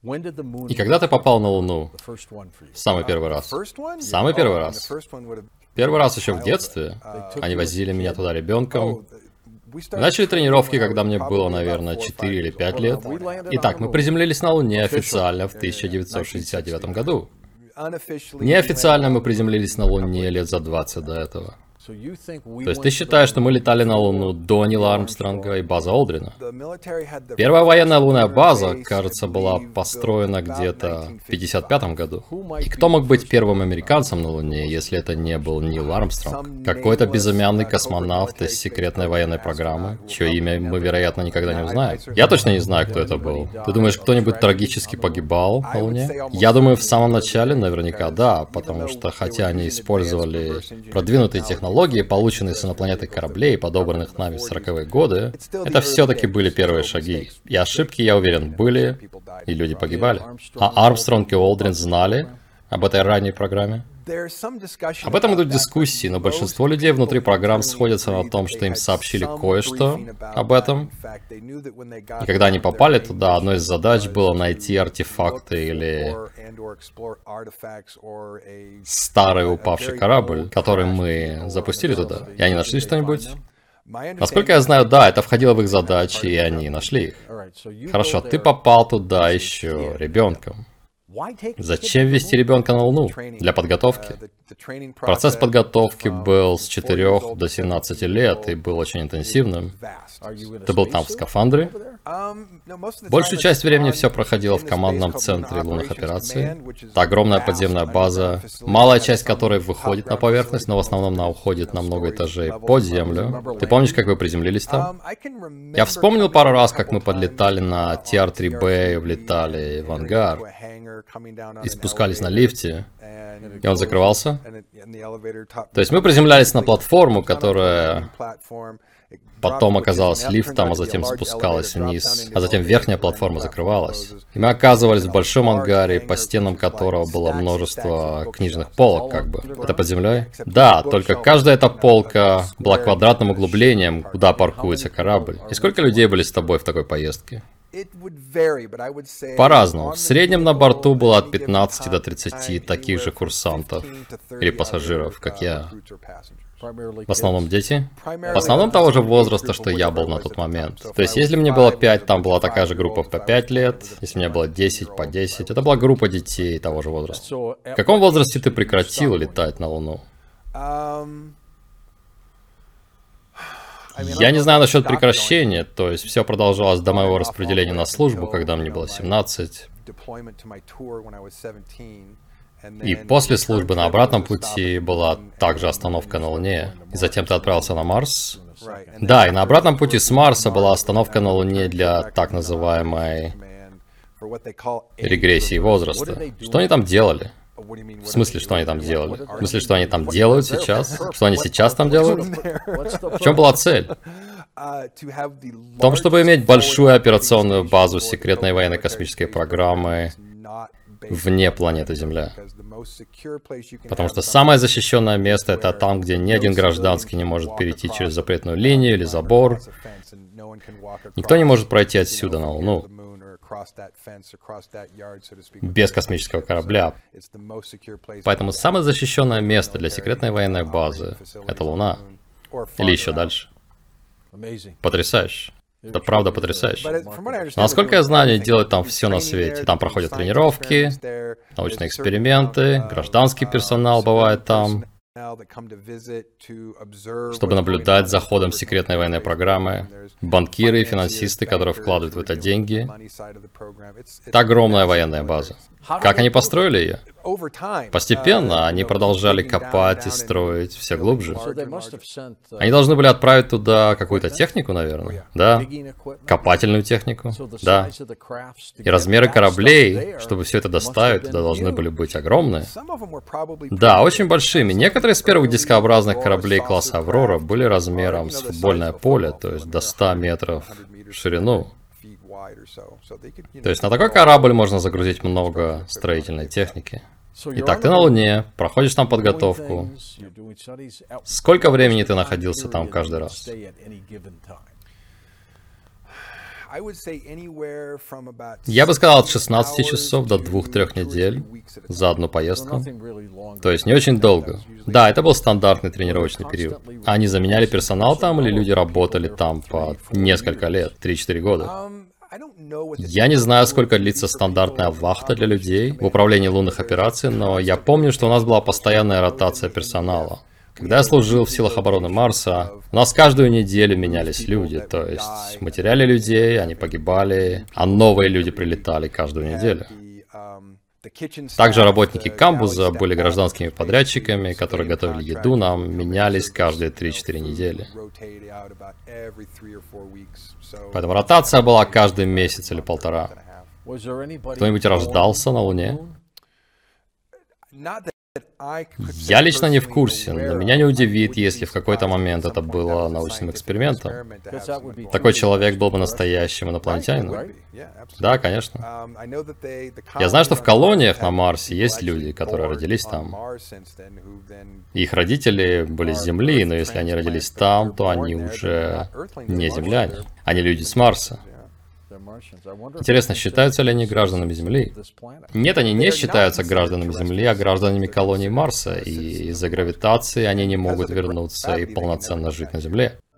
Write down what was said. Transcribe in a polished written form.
И когда ты попал на Луну? Самый первый раз. Самый первый раз. Первый раз еще в детстве. Они возили меня туда ребенком. Мы начали тренировки, когда мне было, наверное, 4 или 5 лет. Итак, мы приземлились на Луне официально в 1969 году. Неофициально мы приземлились на Луне лет за 20 до этого. То есть ты считаешь, что мы летали на Луну до Нила Армстронга и базы Олдрина? Первая военная лунная база, кажется, была построена где-то в 1955 году. И кто мог быть первым американцем на Луне, если это не был Нил Армстронг? Какой-то безымянный космонавт из секретной военной программы, чье имя мы, вероятно, никогда не узнаем. Я точно не знаю, кто это был. Ты думаешь, кто-нибудь трагически погибал на Луне? Я думаю, в самом начале наверняка да, потому что хотя они использовали продвинутые технологии, полученные с инопланетных кораблей, подобранных нами в 40-е годы, это все-таки были первые шаги. И ошибки, я уверен, были, и люди погибали. А Армстронг и Олдрин знали об этой ранней программе? Об этом идут дискуссии, но большинство людей внутри программ сходятся на том, что им сообщили кое-что об этом. И когда они попали туда, одной из задач было найти артефакты или старый упавший корабль, который мы запустили туда. И они нашли что-нибудь? Насколько я знаю, да, это входило в их задачи, и они нашли их. Хорошо, ты попал туда еще ребенком. Зачем вести ребенка на Луну? Для подготовки. Процесс подготовки был с 4 до 17 лет и был очень интенсивным. Ты был там в скафандре? Большую часть времени все проходило в командном центре лунных операций. Это огромная подземная база, малая часть которой выходит на поверхность, но в основном она уходит на много этажей под землю. Ты помнишь, как вы приземлились там? Я вспомнил пару раз, как мы подлетали на TR-3B, влетали в ангар и спускались на лифте, и он закрывался. То есть мы приземлялись на платформу, которая потом оказалась лифтом, а затем спускалась вниз, а затем верхняя платформа закрывалась. И мы оказывались в большом ангаре, по стенам которого было множество книжных полок, как бы. Это под землей? Да, только каждая эта полка была квадратным углублением, куда паркуется корабль. И сколько людей были с тобой в такой поездке? По-разному. В среднем на борту было от 15 до 30 таких же курсантов или пассажиров, как я. В основном дети. В основном того же возраста, что я был на тот момент. То есть, если мне было 5, там была такая же группа по 5 лет. Если мне было 10, по 10. Это была группа детей того же возраста. В каком возрасте ты прекратил летать на Луну? Я не знаю насчет прекращения, то есть все продолжалось до моего распределения на службу, когда мне было 17. И после службы на обратном пути была также остановка на Луне. И затем ты отправился на Марс. Да, и на обратном пути с Марса была остановка на Луне для так называемой регрессии возраста. Что они там делали? В смысле, что они там делали? В смысле, что они там делают сейчас? Что они сейчас там делают? В чем была цель? В том, чтобы иметь большую операционную базу секретной военной космической программы вне планеты Земля. Потому что самое защищенное место — это там, где ни один гражданский не может перейти через запретную линию или забор. Никто не может пройти отсюда на Луну без космического корабля. Поэтому самое защищенное место для секретной военной базы — это Луна. Или еще дальше. Потрясающе. Это правда потрясающе. Но, насколько я знаю, они делают там все на свете. Там проходят тренировки, научные эксперименты, гражданский персонал бывает там, чтобы наблюдать за ходом секретной военной программы, банкиры и финансисты, которые вкладывают в это деньги. Это огромная военная база. Как они построили ее? Постепенно они продолжали копать и строить все глубже. Они должны были отправить туда какую-то технику, наверное. Да. Копательную технику. Да. И размеры кораблей, чтобы все это доставить, туда должны были быть огромные. Да, очень большими. Некоторые из первых дискообразных кораблей класса Аврора были размером с футбольное поле, то есть до 100 метров в ширину. То есть на такой корабль можно загрузить много строительной техники. Итак, ты на Луне, проходишь там подготовку. Сколько времени ты находился там каждый раз? Я бы сказал от 16 часов до 2-3 недель за одну поездку. То есть не очень долго. Да, это был стандартный тренировочный период. Они заменяли персонал там или люди работали там по несколько лет, 3-4 года? Я не знаю, сколько длится стандартная вахта для людей в управлении лунных операций, но я помню, что у нас была постоянная ротация персонала. Когда я служил в силах обороны Марса, у нас каждую неделю менялись люди, то есть мы теряли людей, они погибали, а новые люди прилетали каждую неделю. Также работники камбуза были гражданскими подрядчиками, которые готовили еду нам, менялись каждые 3-4 недели. Поэтому ротация была каждый месяц или полтора. Кто-нибудь рождался на Луне? Я лично не в курсе, но меня не удивит, если в какой-то момент это было научным экспериментом. Такой человек был бы настоящим инопланетянином. Да, конечно. Я знаю, что в колониях на Марсе есть люди, которые родились там. Их родители были с Земли, но если они родились там, то они уже не земляне. Они люди с Марса. Интересно, считаются ли они гражданами Земли? Нет, они не считаются гражданами Земли, а гражданами колонии Марса, и из-за гравитации они не могут вернуться и полноценно жить на Земле.